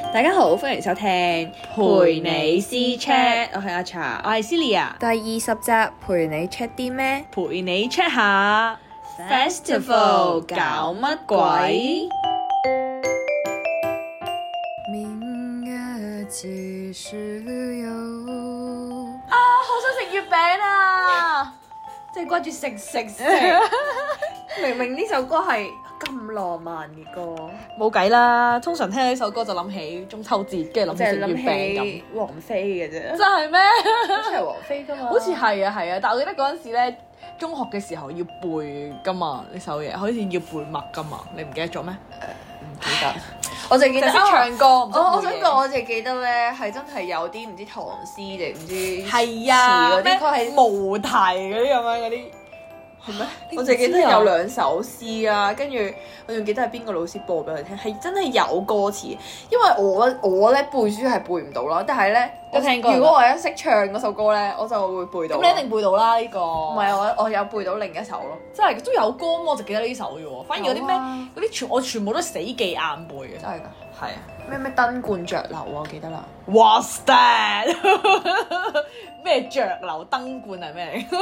大家好，歡迎收聽陪你私 chat，我係阿茶，我係 Celia， 第20集陪你 check 啲咩？ 陪你 check 下 Festival 搞乜鬼？ 明月幾時有？ 啊，好想食月餅啊！即係掛住食。 明明呢首歌係咁浪漫嘅歌， 冇計啦，通常聽呢首歌就諗起中秋節，跟住諗起食月餅咁。 王菲嘅啫， 真係咩？ 好似係王菲㗎嘛？ 好似係啊，但係我記得嗰陣時咧，中學嘅時候要背㗎嘛呢首嘢，好似要背默㗎嘛，你唔記得咗咩？ 唔記得，我淨記得識唱歌。 我想講，我淨係記得咧係真係有啲唔知唐詩定唔知係啊， 嗰啲，佢係無題嗰啲咁樣嗰啲。係咩？ 我淨係記得有2首詩啊，跟住我仲記得係邊個老師播俾我哋聽，係真係有歌詞。因為我咧背書係背唔到啦，但係咧有聽過。 如果我一識唱嗰首歌咧，我就會背到。 咁你一定背到啦呢個。 唔係我有背到另一首咯， 真係都有歌，我就記得呢首嘅喎。反而嗰啲咩嗰啲我全部都死記硬背嘅。 真係㗎。 係啊。 咩燈冠着流啊，我記得啦。 What's that？ 咩着流燈冠係咩嚟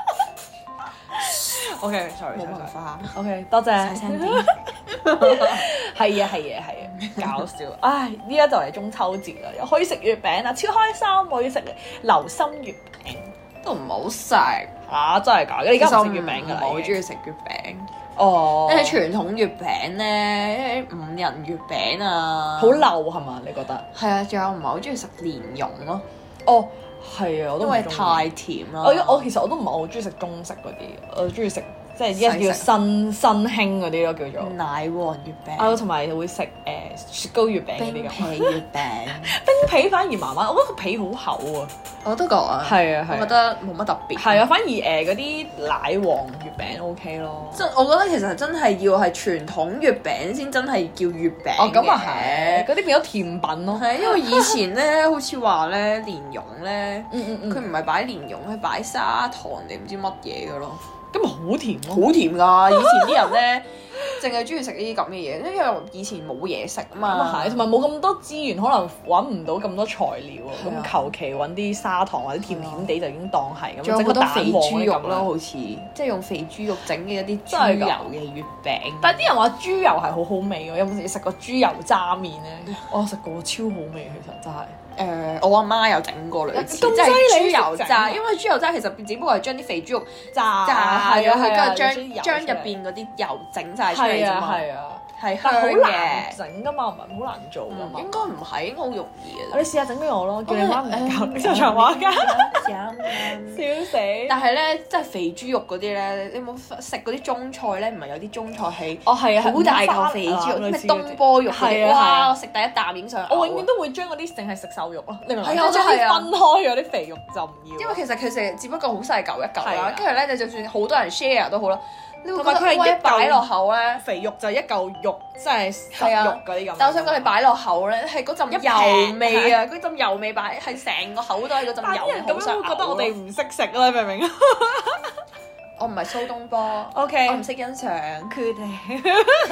？OK，sorry， 冇文化。 OK，多謝。 細聲啲。 係啊，搞笑。唉，依家就嚟中秋節啦，又可以食月餅啦，超開心！我要食流心月餅， 都唔好食。 啊，真係㗎！你而家唔食月餅㗎啦？ 我好中意食月餅。 哦， 因為傳統月餅咧，5仁月餅啊， 好流係嘛？你覺得？ 係啊，仲有唔係好中意食蓮蓉咯。 哦，係啊，我都因為太甜啦。 我其實我都唔係好中意食中式嗰啲，我中意食即係依家叫新興嗰啲咯，叫做奶黃月餅。 同埋會食雪糕月餅嗰啲咁。 冰皮月餅， 冰皮反而麻麻，我覺得個皮好厚啊。 我都覺啊。 係啊， 我覺得冇乜特別。 係啊，反而嗰啲奶黃月餅 OK 咯。 我覺得其實真係要係傳統月餅先真係叫月餅。 哦，咁啊係，嗰啲變咗甜品咯。 係因為以前咧，好似話咧蓮蓉咧，佢唔係擺蓮蓉，係擺砂糖定唔知乜嘢嘅咯。 咁咪好甜咯， 好甜㗎！以前啲人咧，淨係中意食呢啲咁嘅嘢，因為以前冇嘢食啊嘛。 咁啊係，同埋冇咁多資源，可能揾唔到咁多材料啊。咁求其揾啲砂糖或者甜甜地就已經當係咁。 仲有好多肥豬肉咯， 咯， 好似即係用肥豬肉整嘅一啲豬油嘅月餅。 但係啲人話豬油係好好味㗎，有冇食過豬油渣麵咧？我食過，超好味，其實真係。 我阿媽有整過類似，即係豬油渣，因為豬油渣其實只不過係將啲肥豬肉炸係啊，佢跟住將入邊嗰啲油整晒出嚟啫嘛。係香好嘅， 難整㗎嘛，唔係好難做㗎嘛。 應該唔係，應該好容易嘅。 你試下整俾我咯，叫你媽唔教你做長話家，笑死！ 但係咧，即係肥豬肉嗰啲咧，你有冇食嗰啲中菜咧？唔係有啲中菜係係啊， 好大嚿肥豬肉，咩東坡肉嗰啲，哇！我食第一啖影上， 我永遠都會將嗰啲淨係食瘦肉咯，你明唔明？ 係啊， 將啲分開咗啲肥肉就唔要。 因為其實佢食只不過好細嚿一嚿啦，跟住咧你就算好多人 share 都好啦，你會覺得佢係一擺落口咧， 肥肉就係一嚿肉，即係實肉嗰啲咁。 但我想講你擺落口咧，係嗰陣油味啊，嗰陣油味擺係成個口都係嗰陣油， 咁樣會覺得我哋唔識食啦，你明唔明？ 我唔係蘇東坡 ，OK， 我唔識欣賞佢哋，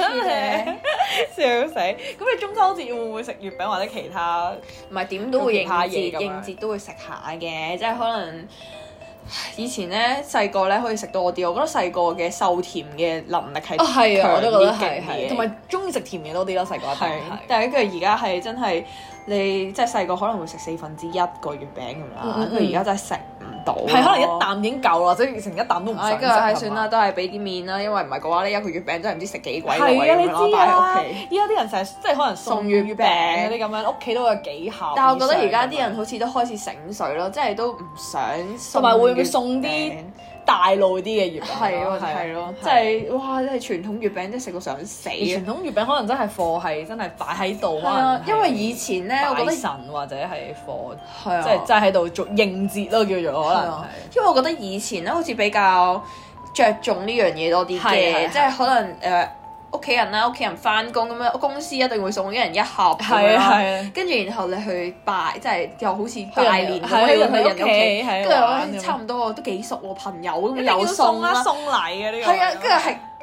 笑死！咁你中秋節會唔會食月餅或者其他？ 唔係點都會應節， 應節都會食下嘅，即係可能以前咧細個咧可以食多啲，我覺得細個嘅受甜嘅能力係係啊，我都覺得係， 同埋中意食甜嘢多啲咯，細個一定係。 但係跟住而家係真係你即係細個可能會食1/4個月餅咁啦，跟住而家真係食唔到， 係可能一啖已經夠啦，或者成一啖都唔想食。 跟住係算啦，都係俾啲面啦，因為唔係嘅話呢一個月餅真係唔知食幾鬼耐係啊，你知擺喺屋啊， 企。 依家啲人成日即係可能送月餅嗰啲咁樣，屋企都有幾盒。 但係我覺得而家啲人好似都開始醒水咯，即係都唔想同埋會唔會送啲大路啲嘅月餅？ 係咯，即係哇！即係傳統月餅，真係食到想死。 傳統月餅可能真係貨係真係擺喺度啊，因為以前咧，我覺得神或者係貨， 即係真係喺度做應節咯，叫做可能。 因為我覺得以前咧好似比較着重呢樣嘢多啲嘅，即係可能屋企人啦，屋企人翻工咁樣，公司一定會送一人一盒咁樣，跟住然後你去拜，即係又好似拜年咁樣去人屋企，跟住差唔多都幾熟喎，朋友咁又送啦， 送禮嘅呢個。 係啊，跟住係。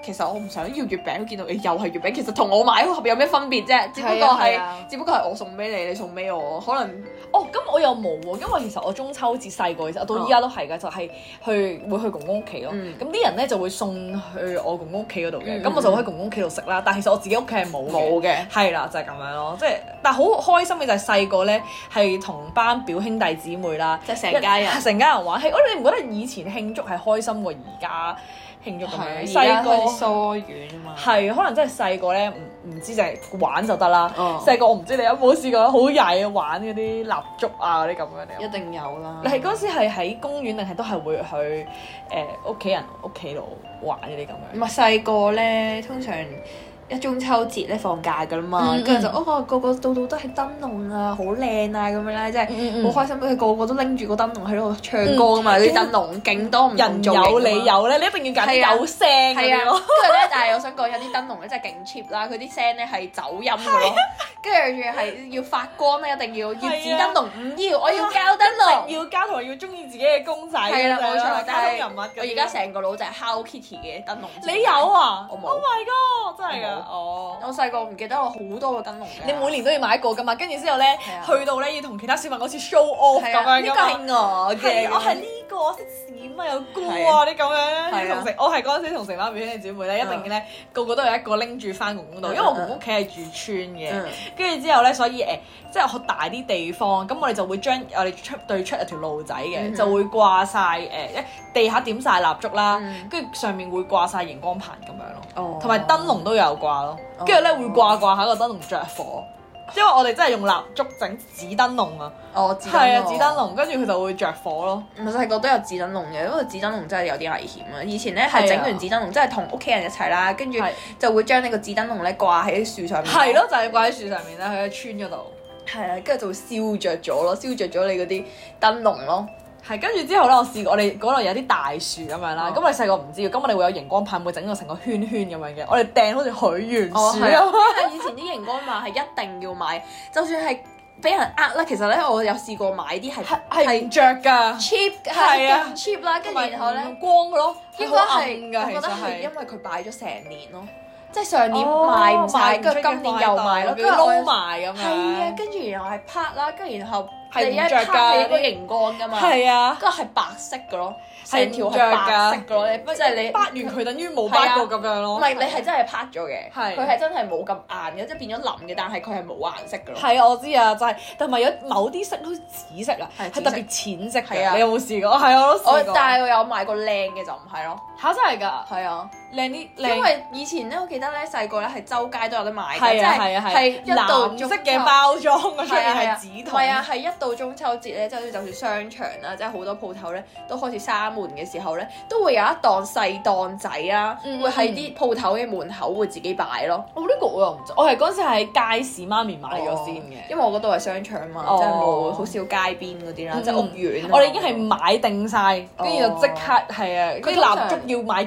其實我唔想要月餅，見到你又係月餅，其實同我買嗰盒有咩分別啫？只不過係我送俾你，你送俾我，可能咁我又冇喎，因為其實我中秋節細個其實我到依家都係㗎，就係會去公公屋企咯。咁啲人咧就會送去我公公屋企嗰度嘅，咁我就會喺公公屋企度食啦。但係其實我自己屋企係冇嘅，係啦，就係咁樣咯。即係但係好開心嘅就係細個咧係同班表兄弟姊妹啦， 即係成家人玩。 係你唔覺得以前慶祝係開心過而家慶祝咁樣？ 細個疏遠啊嘛， 係可能真係細個咧唔知就係玩就得啦。細個我唔知你有冇試過好曳玩嗰啲蠟燭啊嗰啲咁樣。 一定有啦。 你係嗰時係喺公園定係都係會去屋企人屋企度玩嗰啲咁樣？ 唔係細個咧，通常一中秋節咧放假㗎啦嘛，跟住就個個度都係燈籠啊，好靚啊咁樣咧，即係好開心。佢個個都拎住個燈籠喺度唱歌㗎嘛，啲燈籠勁多唔同造型。人有你有咧，你一定要揀有聲嗰啲咯。跟住咧，但係我想講有啲燈籠咧真係勁 cheap 啦，佢啲聲咧係走音㗎咯。跟住仲係要發光咧，一定要紙燈籠，唔要我要膠燈籠， 要膠同埋要中意自己嘅公仔。係啦，冇錯。 卡通人物。 我而家成個腦就係 Hello Kitty 嘅燈籠。 你有啊？ 我冇。 Oh my god！真係㗎。 我細個唔記得我好多個燈籠嘅。 你每年都要買一個㗎嘛？跟住之後咧，去到咧要同其他小朋友好似 show off 咁樣㗎嘛。 呢個係我嘅。 我係呢個，我識閃啊，有歌啊啲咁樣咧。我係嗰陣時同成班表兄弟姊妹咧，一定咧個個都有一個拎住翻公公度，因為我公公屋企係住村嘅。跟住之後咧，所以即係好大啲地方，咁我哋就會將我哋對出有條路仔嘅，就會掛晒地下點晒蠟燭啦，跟住上面會掛晒熒光棒咁樣咯，同埋燈籠都有掛咯，跟住咧會掛下個燈籠着火，因為我哋真係用蠟燭整紙燈籠啊，係啊紙燈籠，跟住佢就會着火咯。 唔係細個都有紙燈籠嘅，因為紙燈籠真係有啲危險啊！以前咧係整完紙燈籠，即係同屋企人一齊啦，跟住就會將呢個紙燈籠咧掛喺樹上面。係咯，就係掛喺樹上面啦，喺村嗰度。 係啊，跟住就會燒着咗咯，燒着咗你嗰啲燈籠咯。 係，跟住之後咧，我試過我哋嗰度有啲大樹咁樣啦，咁我哋細個唔知嘅，咁我哋會有熒光棒，會整到成個圈圈咁樣嘅，我哋掟好似許願樹咁。 以前啲熒光棒係一定要買，就算係俾人呃啦，其實咧我有試過買啲係唔着㗎 cheap 係啊 cheap 啦，跟住然後咧光嘅咯， 應該係我覺得係因為佢擺咗成年咯。即係上年賣唔晒，跟住今年又賣咯，跟住撈埋咁樣。 係啊，跟住然後係拍啦，跟住然後係一拍係個熒光㗎嘛。 係啊， 跟住係白色嘅咯，成條係白色嘅咯。即係你拍完佢等於冇拍過咁樣咯。 唔係你係真係拍咗嘅，佢係真係冇咁硬嘅，即係變咗腍嘅，但係佢係冇顏色嘅咯。 係啊，我知啊，就係同埋有某啲色好似紫色啊，係特別淺色嘅。你有冇試過？係啊，我都試過。 但係我有買過靚嘅就唔係咯。 嚇！真係㗎？ 係啊， 靚啲。 因為以前咧，我記得咧細個咧係周街都有得買嘅， 即係一到藍色嘅包裝嘅出面係紙筒。 係啊，係一到中秋節咧，即係就算商場啦，即係好多鋪頭咧都開始閂門嘅時候咧，都會有一檔細檔仔啦，會喺啲鋪頭嘅門口會自己擺咯。 呢個我又唔知，我係嗰陣時喺街市媽咪買咗先嘅， 因為我嗰度係商場嘛，即係冇好少街邊嗰啲啦，即係屋苑。 我哋已經係買定晒，跟住就即刻係啊，啲蠟燭要買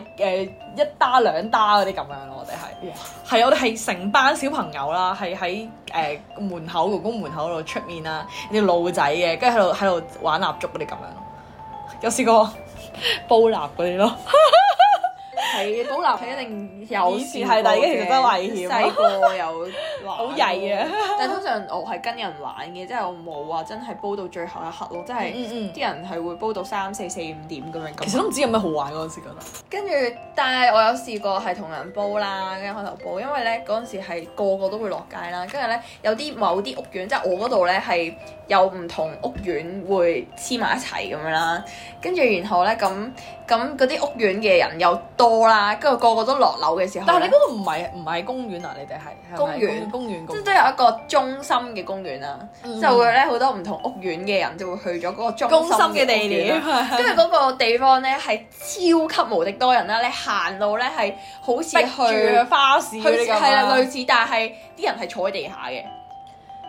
1打2打嗰啲咁樣咯，我哋係我哋係成班小朋友啦，係喺門口公公門口度出面啦，啲路仔嘅，跟住喺度玩蠟燭嗰啲咁樣咯，有試過煲蠟嗰啲咯。 係煲蠟係一定有， 以前係，但係其實真係危險。 細個又好曳啊！ 但係通常我係跟人玩嘅，即係我冇話真係煲到最後一刻咯，即係啲人係會煲到3、4、4、5點咁樣。其實都唔知有咩好玩嗰陣時覺得。 跟住，但係我有試過係同人煲啦，跟住開頭煲，因為咧嗰陣時係個個都會落街啦，跟住咧有啲某啲屋苑，即係我嗰度咧係有唔同屋苑會黐埋一齊咁樣啦，跟住然後咧咁嗰啲屋苑嘅人又多啦，跟住個個都落樓嘅時候， 但係你嗰度唔係公園啊？你哋係公園， 即係都有一個中心嘅公園啦，就會咧好多唔同屋苑嘅人就會去咗嗰個中心嘅地點，跟住嗰個地方咧係超級無敵多人啦，你行路咧係好似去花市嗰啲咁， 係啦類似，但係啲人係坐喺地下嘅。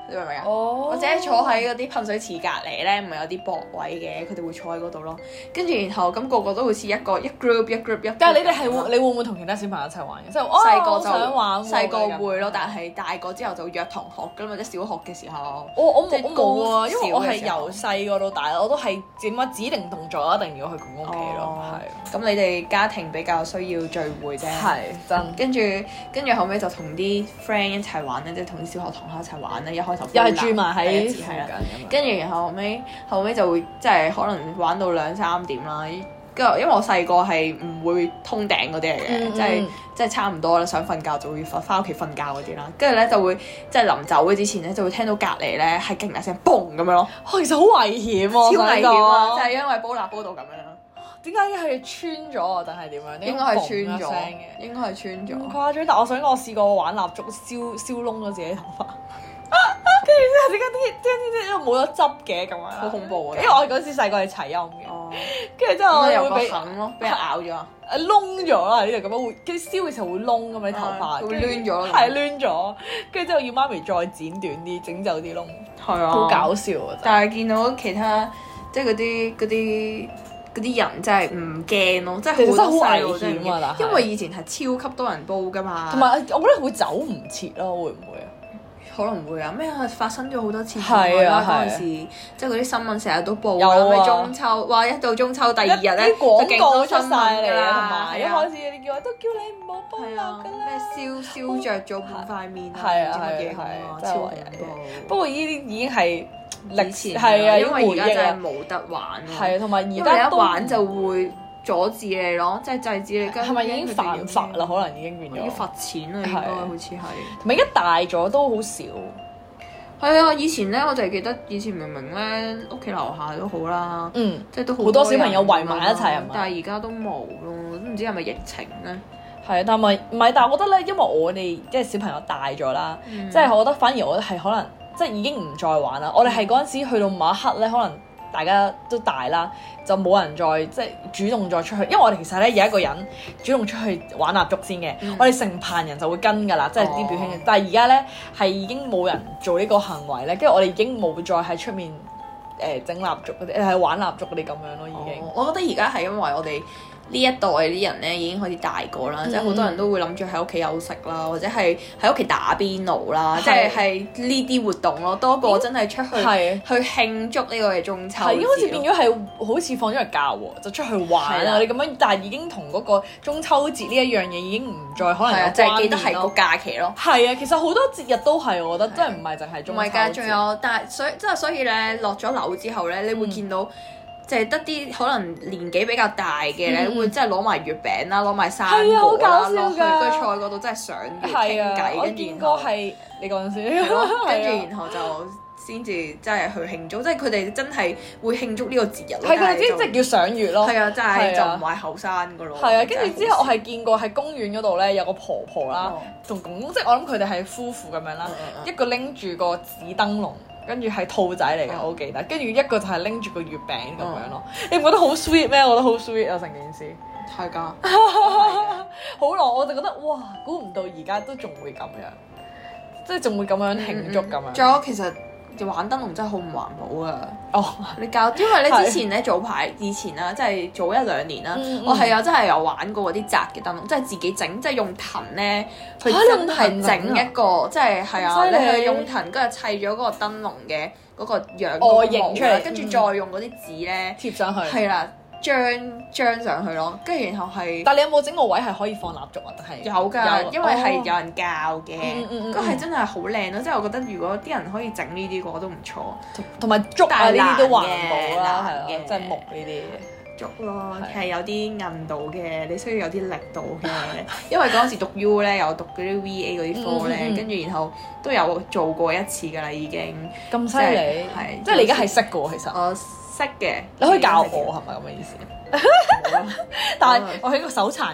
你明唔明啊？ 或者坐喺嗰啲噴水池隔離咧，唔係有啲駁位嘅，佢哋會坐喺嗰度咯。跟住然後咁個個都好似一 group。 但係你哋你會唔會同其他小朋友一齊玩嘅？即係細個就想玩， 細個會咯，但係大個之後就約同學咁或者小學嘅時候。 我冇啊，因為我係由細個到大，我都係點解指定動作一定要去公公屋企咯。係。 咁你哋家庭比較需要聚會啫。 係真。 跟住後尾就同啲 friend 一齊玩咧，即係同啲小學同學一齊玩咧。一開頭又係住埋喺附近咁樣。跟住然後後尾就會即係可能玩到2-3點啦。跟住因為我細個係唔會通頂嗰啲嚟嘅，即係差唔多啦，想瞓覺就會翻屋企瞓覺嗰啲啦。跟住咧就會即係臨走嘅之前咧就會聽到隔離咧係勁大聲嘣咁樣咯。 其實好危險啊！ 超危險啊！就係因為煲蠟煲到咁樣。 點解係穿咗啊？定係點樣？ 應該係穿咗嘅。應該係穿咗。 咁誇張！但我想講，我試過玩蠟燭燒燶咗自己頭髮。跟住之後點解因為冇咗汁嘅咁樣， 好恐怖啊！ 因為我嗰時細個係齊陰嘅，跟住之後有個痕咯，俾人咬咗啊！ 燶咗啦，呢度咁樣會，跟住燒嘅時候會燶咁你頭髮， 會攣咗， 係攣咗，跟住之後要媽咪再剪短啲，整走啲窿， 係啊， 好搞笑啊！ 但係見到其他即係嗰啲人真係唔驚咯，即係好多細路真係，因為以前係超級多人煲㗎嘛， 同埋我覺得會走唔切咯，會唔會啊？ 可能會啊！咩發生咗好多次意外啦嗰陣時，即係嗰啲新聞成日都報啦。咩中秋，哇！一到中秋第2日咧， 廣告出晒嚟啦， 同埋一開始你叫我都叫你唔好煲蠟㗎啦。 咩燒着咗半塊面啊， 係啊， 超恐怖。 不過呢啲已經係歷前係啊，因為而家真係冇得玩。 係啊，同埋而家一玩就會阻止你咯，即係制止你。 係咪已經犯法啦？可能已經變咗。 要罰錢啊！應該好似係。 同埋而家大咗都好少。 係啊，以前咧我就係記得以前明明咧屋企樓下都好啦，即係都好多小朋友圍埋一齊係嘛？ 但係而家都冇咯，都唔知係咪疫情咧？ 係啊，但係唔係？但係我覺得咧，因為我哋即係小朋友大咗啦，即係我覺得反而我覺得係可能即係已經唔再玩啦。我哋係嗰陣時去到某一刻咧，可能大家都大啦，就冇人再即係主動再出去，因為我哋其實咧有一個人主動出去玩蠟燭先嘅，我哋成棚人就會跟㗎啦，即係啲表兄弟。但係而家咧係已經冇人做呢個行為咧，跟住我哋已經冇再喺出面整蠟燭嗰啲，係玩蠟燭嗰啲咁樣咯，已經。 我覺得而家係因為我哋呢一代啲人咧已經開始大個啦，即係好多人都會諗住喺屋企休息啦，或者係喺屋企打邊爐啦，即係呢啲活動咯，多過真係出去去慶祝呢個嘅中秋節。係， 好似變咗係好似放咗日假喎，就出去玩啊！你咁樣，但係已經同嗰個中秋節呢一樣嘢已經唔再可能有關聯咯。 就係記得係個假期咯。 係啊，其實好多節日都係，我覺得真係唔係淨係中秋節。唔係㗎， 仲有，但係所以咧落咗樓之後咧，你會見到。就係得啲可能年紀比較大嘅咧，會真係攞埋月餅啦，攞埋生果啦落去，跟住坐喺嗰度真係賞月傾偈，跟住然後係你嗰陣時，跟住然後就先至真係去慶祝，即係佢哋真係會慶祝呢個節日咯。係佢哋即係叫賞月咯。係啊，真係就唔係後生噶咯。係啊，跟住之後我係見過喺公園嗰度咧有個婆婆啦，同公公，即係我諗佢哋係夫婦咁樣啦，一個拎住個紙燈籠。跟住係兔仔嚟嘅，我好記得。跟住一個就係拎住個月餅咁樣咯。你唔覺得好 sweet 咩？我覺得好 sweet 啊，成件事。係㗎。好耐我就覺得哇，估唔到而家都仲會咁樣，即係仲會咁樣慶祝咁樣。仲有其實玩燈籠真係好唔環保啊！哦，你因為咧之前咧以前啦，即係早1-2年啦，我係真係有玩過嗰啲紮嘅燈籠，即係自己整，即係用藤咧，佢真係整一個，即係啊，你係用藤跟住砌咗嗰個燈籠嘅嗰個樣外形出嚟，跟住再用嗰啲紙咧貼上去，係啦。張上去咯，跟住然後係。但係你有冇整個位係可以放蠟燭啊？定係有㗎，因為係有人教嘅，咁係真係好靚咯。即係我覺得如果啲人可以整呢啲嘅話都唔錯，同埋竹啊呢啲都環保啦，係啊，即係木呢啲竹咯，係有啲韌度嘅，你需要有啲力度嘅。因為嗰陣時讀 U 咧，有讀嗰啲 VA 嗰啲科咧，跟住然後都有做過一次㗎啦，已經。咁犀利，係即係你而家係識嘅喎，其實。識嘅，你可以教我係咪咁嘅意思？但係我係一個手殘嘅人嚟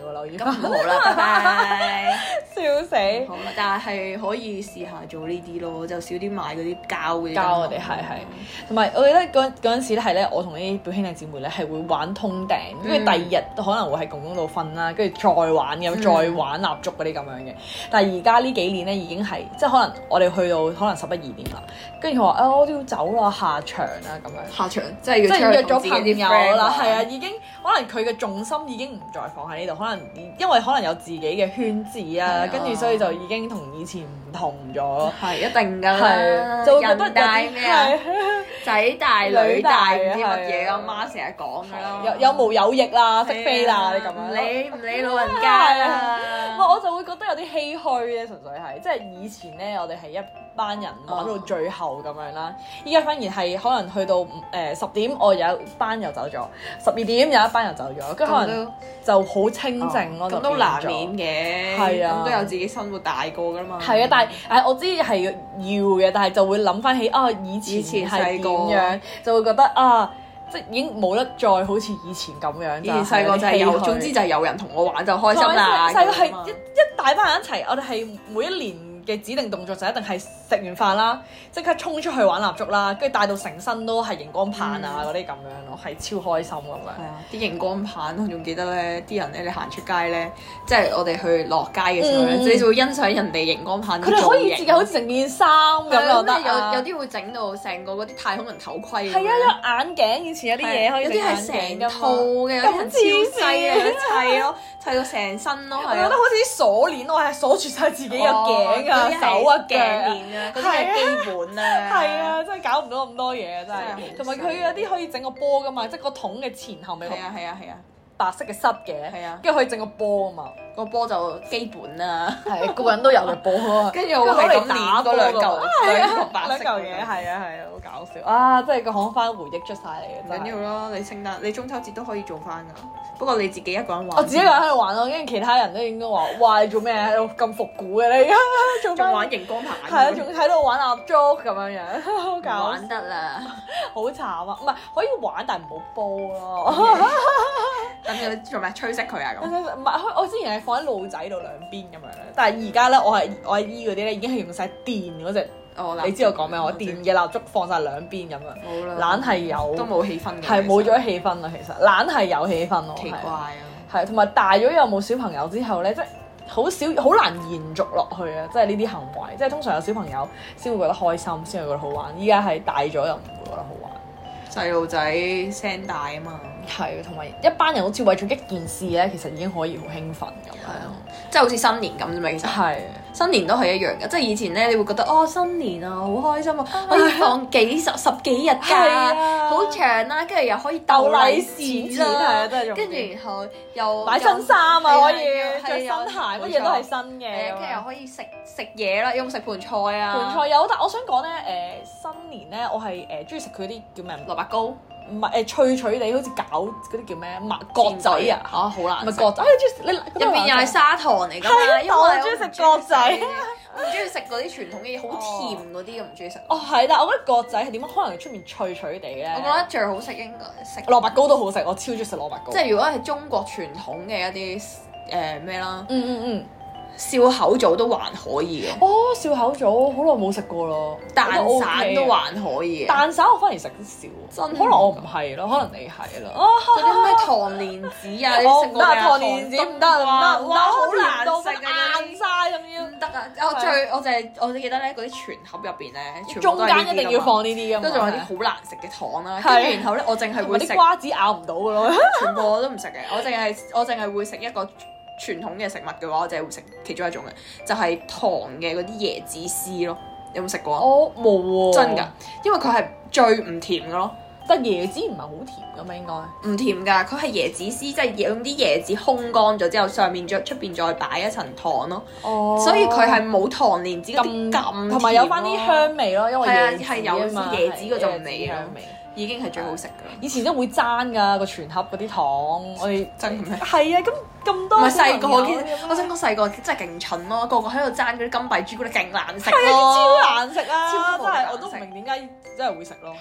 喎，留意。 咁唔好啦，拜拜。 笑死！ 好啦，但係可以試下做呢啲咯，就少啲買嗰啲膠嘅。 膠我哋係，同埋我記得嗰陣時咧係咧，我同啲表兄弟姊妹咧係會玩通頂，跟住第二日可能會喺公公度瞓啦，跟住再玩咁，再玩蠟燭嗰啲咁樣嘅。但係而家呢幾年咧已經係即係可能我哋去到可能11、12點啦，跟住佢話我都要走啦，下場啦咁樣。 下場即係約咗朋友啦，係啊，已經可能佢嘅重心已經唔再放喺呢度，可能因為可能有自己嘅圈子啊，跟住所以就已經同以前唔同咗。 係一定㗎啦， 就覺得人大咩啊？仔大女大唔知乜嘢，阿媽成日講㗎啦。 有毛有翼啦，識飛啦，你咁樣。 你唔理老人家啦。 我就會覺得有啲唏噓咧，純粹係即係以前咧，我哋係一班人玩到最後咁樣啦。依家反而係可能去到10點，我有一班又走咗；12點有一班又走咗，跟住可能就好清靜咯。 咁都難免嘅， 係啊， 咁都有自己生活大個㗎嘛。 係啊，但係我知係要嘅，但係就會諗翻起以前係點樣，就會覺得即係已經冇得再好似以前咁樣。 以前細個就係有，總之就係有人同我玩就開心啦。 細個係一大班人一齊，我哋係每一年嘅指定動作就一定係食完飯啦，即刻衝出去玩蠟燭啦，跟住帶到成身都係熒光棒啊嗰啲咁樣咯，係超開心咁樣。係啊， 啲熒光棒我仲記得咧，啲人咧你行出街咧，即係我哋去落街嘅時候咧，你就會欣賞人哋熒光棒。佢哋可以自己好似成件衫咁又得。 有啲會整到成個嗰啲太空人頭盔。 係啊，有眼鏡，以前有啲嘢可以有啲係成套嘅，有啲人超細嘅砌咯，砌到成身咯。 我覺得好似啲鎖鏈，我係鎖住晒自己嘅頸啊、手啊、腳啊，嗰啲係基本啊。 係啊，真係搞唔到咁多嘢啊，真係。同埋佢有啲可以整個波噶嘛，即係個桶嘅前後咪係啊白色嘅塞嘅，跟住可以整個波啊嘛。個波就基本啦，係個人都有嘅波啊。跟住我係咁打嗰兩嚿白色嘢，係啊，好搞笑啊！真係個講翻回憶出晒嚟嘅。 唔緊要咯，你聖誕、你中秋節都可以做翻㗎。不過你自己一個人玩， 我自己一個人喺度玩咯，跟住其他人都應該話：哇！你做咩喺度咁復古嘅你而家？ 仲玩熒光棒？ 係啊，仲喺度玩蠟燭咁樣樣，好搞笑。 玩得啦， 好慘啊！唔係可以玩，但係唔好煲咯。 咁要做咩？吹熄佢啊咁？ 唔係，我之前係放喺路仔度兩邊咁樣咧，但係而家咧，我阿姨嗰啲咧已經係用晒電嗰隻。你知我講咩？我電嘅蠟燭放晒兩邊咁樣，懶係有都冇氣氛嘅， 係冇咗氣氛啦。其實懶係有氣氛咯， 奇怪啊！ 係同埋大咗有冇小朋友之後咧，即係好難延續落去啊！即係呢啲行為，即係通常有小朋友先會覺得開心，先會覺得好玩。依家係大咗又唔會覺得好玩。 細路仔聲大啊嘛， 係同埋一班人好似為咗一件事咧，其實已經可以好興奮咁樣。 係啊，即係好似新年咁啫嘛，其實係新年都係一樣嘅，即係以前咧，你會覺得新年啊好開心啊，可以放十幾日假，好長啦，跟住又可以鬥利是啦，跟住然後又買新衫啊，可以着新鞋，乜嘢都係新嘅， 跟住又可以食嘢啦，有冇食盤菜啊？ 盤菜有，但我想講咧，新年咧，我係中意食佢啲叫咩蘿蔔糕。唔係脆脆地，好似餃嗰啲叫咩角仔啊嚇，好難。唔係角仔，你入邊又係砂糖嚟㗎嘛？因為我中意食角仔， 我唔中意食嗰啲傳統嘅嘢，好甜嗰啲咁唔中意食。 係，但係我覺得角仔係點樣？可能出面脆脆地咧。 我覺得最好食應該食蘿蔔糕都好食，我超中意食蘿蔔糕。 即係如果係中國傳統嘅一啲咩啦，笑口棗都還可以嘅。 笑口棗好耐冇食過咯。 蛋散都還可以嘅。 蛋散我反而食得少，可能我唔係咯，可能你係咯。 嗰啲咩糖蓮子啊，你食過咩？ 糖蓮子唔得， 哇，好難食啊，硬晒咁樣。 唔得啊！我記得咧，嗰啲全盒入邊咧， 中間一定要放呢啲㗎嘛。 都仲有啲好難食嘅糖啦，跟住然後咧，我淨係會食啲瓜子咬唔到㗎咯。 全部我都唔食嘅，我淨係會食一個傳統嘅食物嘅話，我淨係會食其中一種嘅，就係糖嘅嗰啲椰子絲咯。有冇食過啊？ 我冇喎。 真㗎，因為佢係最唔甜嘅咯。 但椰子唔係好甜㗎嘛，應該。 唔甜㗎，佢係椰子絲，即係用啲椰子烘乾咗之後，上面出邊再擺一層糖咯。所以佢係冇糖蓮子咁同埋有翻啲香味咯，因為係有椰子嗰種味香味。已經係最好食㗎。 以前都會爭㗎個全盒嗰啲糖，我哋爭咩？ 係啊，咁多。 唔係細個，我想講細個真係勁蠢咯，個個喺度爭嗰啲金幣朱古力勁難食咯。 超難食啊！真係我都唔明點解真係會食咯。 係啊，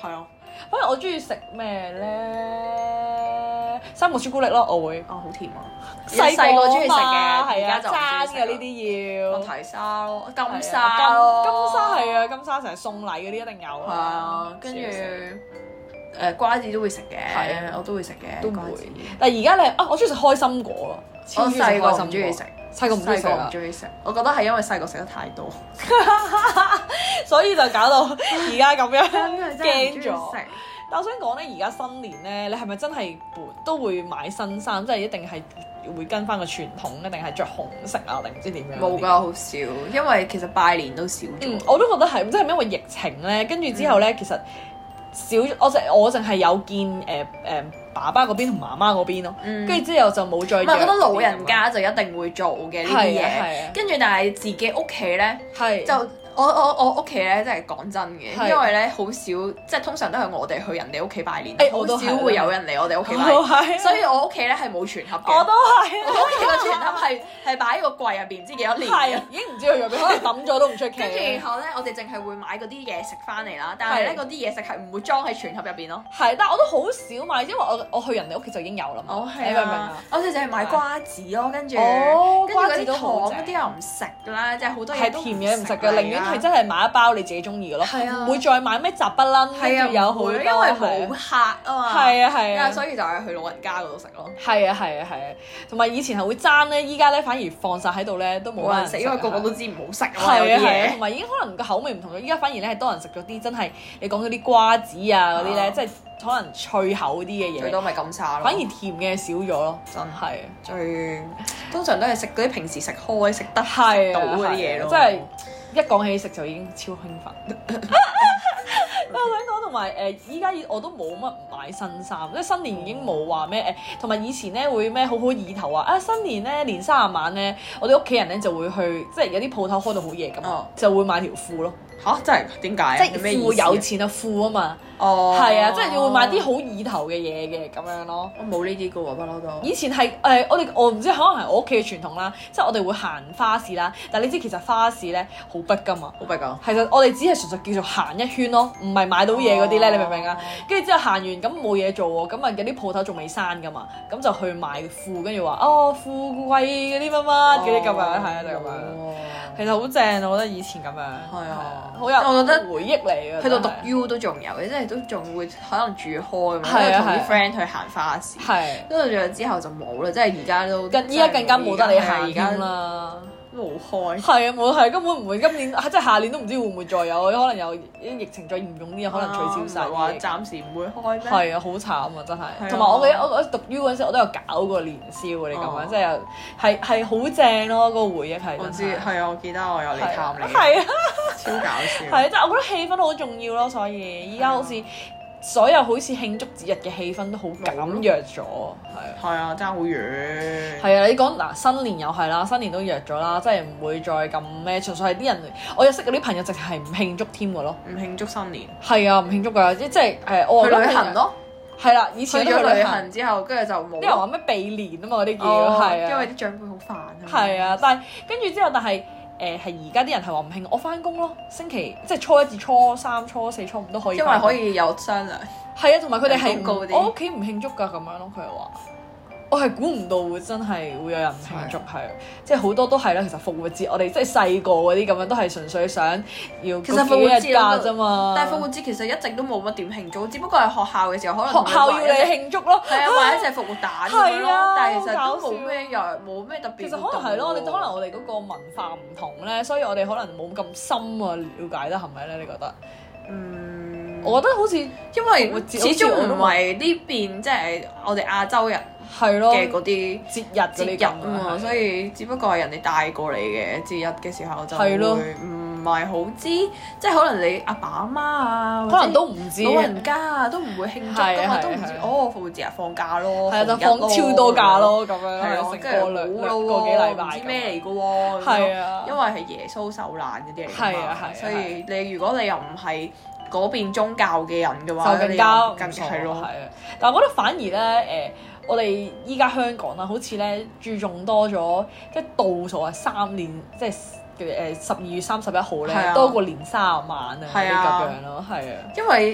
反正我中意食咩咧？三個朱古力咯，我會。 好甜啊！ 細個中意食嘅， 係啊， 而家就唔爭嘅呢啲。 啲要。 提沙咯，金沙咯， 金沙係啊，金沙成日送禮嗰啲一定有。 係啊，跟住瓜子都會食嘅，我都會食嘅， 都會。但係而家你我中意食開心果咯， 我細個唔中意食， 細個唔中意食， 我覺得係因為細個食得太多， 所以就搞到而家咁樣驚咗。 食。 但我想講咧，而家新年咧，你係咪真係都會買新衫？即係一定係會跟翻個傳統，一定係着紅色啊，定唔知點樣？ 冇㗎，好少，因為其實拜年都少咗。 我都覺得係，即係因為疫情咧，跟住之後咧，其實少我淨係有見爸爸嗰邊同媽媽嗰邊咯，跟住之後就冇再。唔係， 我覺得老人家就一定會做嘅呢啲嘢，跟住但係自己屋企咧就。我屋企咧，真係講真嘅，因為咧好少，即係通常都係我哋去人哋屋企拜年，好少會有人嚟我哋屋企拜年，所以我屋企咧係冇全盒嘅。 我都係， 我屋企個全盒係擺喺個櫃入邊，唔知幾多年。 係，已經唔知去咗邊，可能抌咗都唔出奇。 跟住然後咧，我哋淨係會買嗰啲嘢食翻嚟啦，但係咧嗰啲嘢食係唔會裝喺全盒入邊咯。 係，但係我都好少買，因為我去人哋屋企就已經有啦嘛。你明唔明啊？ 我哋就係買瓜子咯，跟住嗰啲糖嗰啲又唔食啦，即係好多嘢都甜嘢唔食嘅，寧願係真係買一包你自己中意嘅咯，唔會再買咩雜不楞，跟住有好多，因為冇客啊嘛。 係啊， 所以就係去老人家嗰度食咯。 係啊，同埋以前係會爭咧，依家咧反而放晒喺度咧都冇人食， 因為個個都知唔好食啊嘛。係啊，同埋已經可能個口味唔同咗，依家反而咧係多人食咗啲真係你講嗰啲瓜子啊嗰啲咧，即係可能脆口啲嘅嘢。 最多咪金沙咯。 反而甜嘅少咗咯，真係。通常都係食嗰啲平時食開食得到嗰啲嘢咯。 即係一講起食就已經超興奮。我想講同埋依家我都冇乜買新衫，即係新年已經冇話咩同埋以前咧會咩好意頭啊！新年咧年30晚咧，我哋屋企人咧就會去，即係有啲鋪頭開到好夜咁，就會買條褲咯。 嚇！真係點解？ 即係褲有錢啊褲啊嘛。係啊，即係會買啲好意頭嘅嘢嘅咁樣咯。 我冇呢啲嘅喎，不嬲都。 以前係我唔知，可能係我屋企嘅傳統啦，即係我哋會行花市啦。但係你知其實花市咧好逼㗎嘛， 好逼㗎。 其實我哋只係純粹叫做行一圈咯，唔係買到嘢嗰啲咧，你明唔明啊？跟住之後行完咁冇嘢做喎，咁啊有啲鋪頭仲未閂㗎嘛，咁就去買褲，跟住話富貴嗰啲乜乜嗰啲咁樣，係啊就咁樣。其實好正，我覺得以前咁樣。係啊，好有我覺得回憶嚟嘅。 去到讀 U 都仲有嘅，即係都仲會可能住開咁樣，同啲 friend 去行花市。係。跟住之後就冇啦，即係而家都。依家更加冇得你行添啦。冇開。係啊，冇係根本唔會，今年即係下年都唔知會唔會再有，可能有啲疫情再嚴重啲，可能取消晒。 話暫時唔會開咩？ 係啊，好慘啊，真係。同埋我記得我讀 U 嗰陣時，我都有搞過年宵嗰啲咁樣，即係係好正咯，個回憶係。 我知係啊，我記得我有嚟探你。 係啊， 超搞笑。 係，即係我覺得氣氛好重要咯，所以依家好似所有好似慶祝節日嘅氣氛都好減弱咗，係啊，爭好遠。 係啊，你講嗱新年又係啦，新年都弱咗啦，即係唔會再咁咩，純粹係啲人，我有識嗰啲朋友直係唔慶祝添㗎咯， 唔慶祝新年。 係啊，唔慶祝㗎，即係我去旅行咯。 係啦，以前去咗旅行之後，跟住就冇。 啲人話咩避年啊嘛，嗰啲叫係啊， 因為啲長輩好煩啊。 係啊，但係跟住之後，但係。係而家啲人係話唔慶，我翻工咯，星期即係初1至初3、初4、初5都可以。 因為可以有商量。 係啊，同埋佢哋係我屋企唔慶祝㗎咁樣咯，佢係話。我係估唔到會真係會有人唔慶祝，係即係好多都係啦。其實復活節我哋即係細個嗰啲咁樣都係純粹想要其實復活節假啫嘛。 但係復活節其實一直都冇乜點慶祝，只不過係學校嘅時候可能學校要你慶祝咯。 係啊，買一隻復活蛋咁樣咯。但係其實都冇咩又冇咩特別。 其實可能係咯，可能我哋嗰個文化唔同咧，所以我哋可能冇咁深啊了解得係咪咧？你覺得？我覺得好似因為始終唔係呢邊即係我哋亞洲人係咯嘅嗰啲節日啊嘛，所以只不過係人哋帶過嚟嘅節日嘅時候就會唔係好知，即係可能你阿爸阿媽啊， 可能都唔知， 老人家啊都唔會慶祝㗎嘛，都唔知復活節放假咯， 係啊，就放超多假咯咁樣， 係啊，跟住個幾禮拜唔知咩嚟㗎喎， 係啊， 因為係耶穌受難嗰啲嚟㗎嘛，所以你如果你又唔係嗰邊宗教嘅人嘅話， 就更加係咯，係啊。 但係我覺得反而咧我哋依家香港啦，好似咧注重多咗，即係倒數啊3年，即係12月31號咧，多過年30晚啊啲咁樣咯，係啊。 因為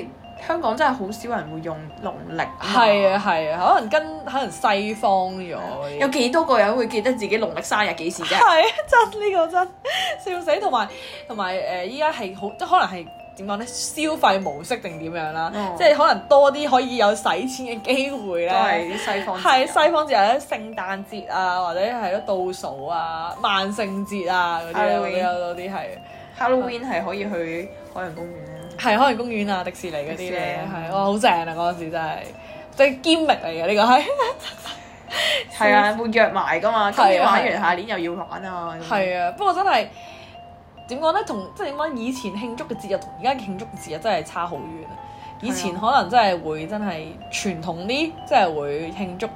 香港真係好少人會用農曆。 係啊係啊，可能西方咗。 有幾多個人會記得自己農曆生日幾時啫？ 係真呢個真笑死，同埋依家係好即係可能係點講咧？消費模式定點樣啦？即係可能多啲可以有使錢嘅機會咧。 都係啲西方節日。 係西方節日咧，聖誕節啊，或者係咯倒數啊、萬聖節啊嗰啲咧，有多啲係。 Halloween 係可以去海洋公園咧。 係海洋公園啊、迪士尼嗰啲咧，係哇好正啊！嗰陣時真係即係堅力嚟嘅呢個係。 係啊，會約埋㗎嘛，今年玩完，下年又要玩啊。 係啊，不過真係點講咧？同即係點講？以前慶祝嘅節日同而家慶祝嘅節日真係差好遠啊！以前可能真係會真係傳統啲，即係會慶祝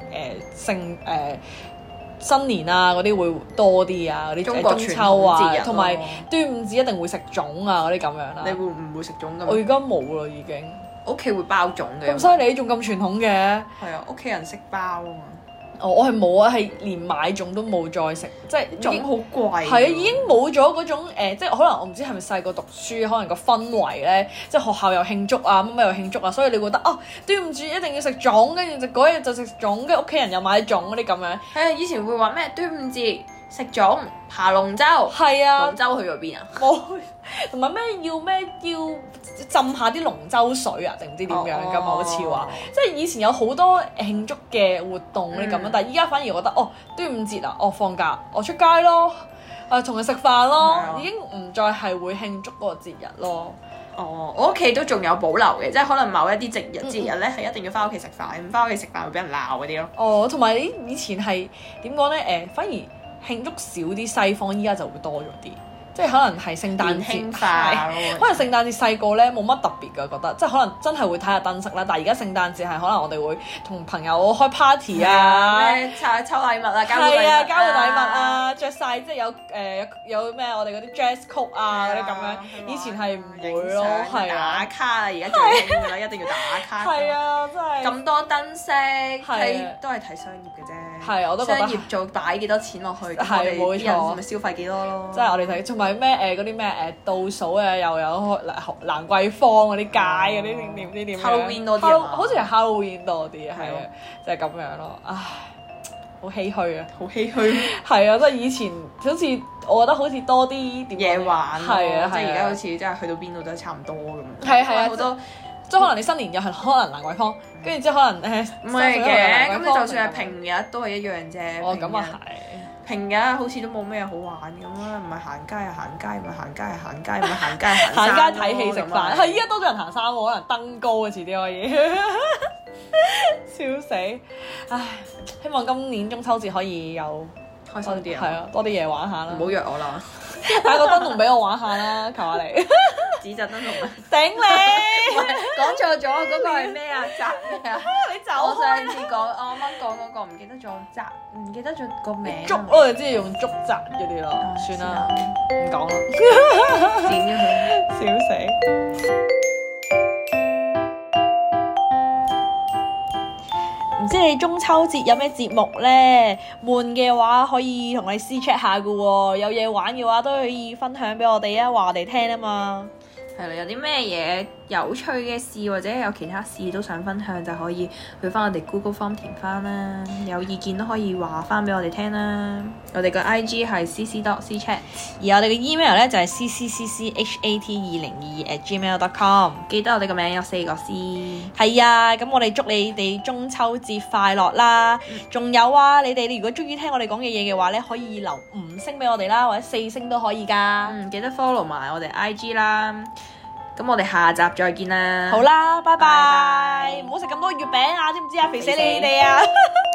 新年啊嗰啲會多啲啊，嗰啲中秋啊，同埋端午節一定會食粽啊嗰啲咁樣啦。 你會唔會食粽㗎？ 我而家冇啦已經。 屋企會包粽嘅。 咁犀利，仲咁傳統嘅。 係啊，屋企人識包啊嘛。 我係冇啊，係連買粽都冇再食，即係粽好貴。 係啊，已經冇咗嗰種即係可能我唔知係咪細個讀書，可能個氛圍咧，即係學校又慶祝啊，乜乜又慶祝啊，所以你覺得哦，端午節一定要食粽，跟住就嗰日就食粽，跟住屋企人又買粽嗰啲咁樣。 係啊，以前會話咩端午節食粽爬龍舟。 係啊， 龍舟去咗邊啊？ 冇，同埋要浸下啲龍舟水啊，定唔知點樣㗎嘛？好似話，即係以前有好多慶祝嘅活動嗰啲咁樣，但係依家反而覺得哦，端午節啊，哦放假，我出街咯，同人食飯咯，已經唔再係會慶祝嗰個節日咯。 哦，我屋企都仲有保留嘅，即係可能某一啲節日咧係一定要翻屋企食飯，唔翻屋企食飯會俾人鬧嗰啲咯。 哦，同埋你以前係點講咧？反而慶祝少啲西方，依家就會多咗啲。即係可能係聖誕節，可能聖誕節細個咧冇乜特別㗎，覺得即係可能真係會睇下燈飾啦。但係而家聖誕節係可能我哋會同朋友開 party 啊， 咩抽禮物啊，交換禮物啊，着晒即係有咩我哋嗰啲 dress code 啊嗰啲咁樣。以前係唔會咯，係打卡啊，而家最興㗎啦，一定要打卡。 係啊，真係咁多燈飾，都係睇商業嘅啫。 係，我都覺得商業做擺幾多錢落去， 係冇錯， 咪消費幾多咯。 即係我哋睇，同埋咩嗰啲咩倒數啊，又有蘭桂坊嗰啲街嗰啲點唔知點樣 Halloween 多啲啊， 好似係 Halloween 多啲啊，係啊，就係咁樣咯。唉，好唏噓啊， 好唏噓。 係啊，即係以前好似我覺得好似多啲嘢玩， 係啊， 即係而家好似即係去到邊度都係差唔多咁樣。 係啊， 好多。 即係可能你新年又係可能蘭桂坊，跟住之後可能唔係嘅，咁你就算係平日都係一樣啫。 哦，咁啊係。 平日好似都冇咩好玩咁啦，唔係行街啊行街，唔係行街啊行街，唔係行街行山。 行街睇戲食飯，係依家多咗人行山喎，可能登高啊遲啲可以。笑死！唉，希望今年中秋節可以有開心啲啊， 係啊，多啲嘢玩下啦。 唔好約我啦， 帶個燈籠俾我玩下啦，求下你。 紙紮燈籠啊！ 頂你！ 講錯咗，嗰個係咩啊？紮咩啊？ 你走！ 我上次講，我啱啱講嗰個唔記得咗紮，唔記得咗個名。 竹我哋知用竹紮嗰啲咯，算啦，唔講啦。 剪咗佢， 笑死！唔知你中秋節有咩節目咧？悶嘅話可以同你私 chat 下噶喎，有嘢玩嘅話都可以分享俾我哋啊，話我哋聽啊嘛。 係啦，有啲咩嘢有趣嘅事或者有其他事都想分享，就可以去翻我哋 Google Form 填翻啦。有意見都可以話翻俾我哋聽啦。我哋個 IG 係 cc.cchat， 而我哋嘅 email 咧就係 cccchat2022@gmail.com。 記得我哋個名有4個 C。 係啊，咁我哋祝你哋中秋節快樂啦！仲有啊，你哋如果中意聽我哋講嘅嘢嘅話咧，可以留5星俾我哋啦，或者4星都可以㗎。 記得 follow 埋我哋 IG 啦。咁我哋下集再見啦。 好啦，拜拜。唔好食咁多月餅啊，知唔知啊？肥死你哋啊！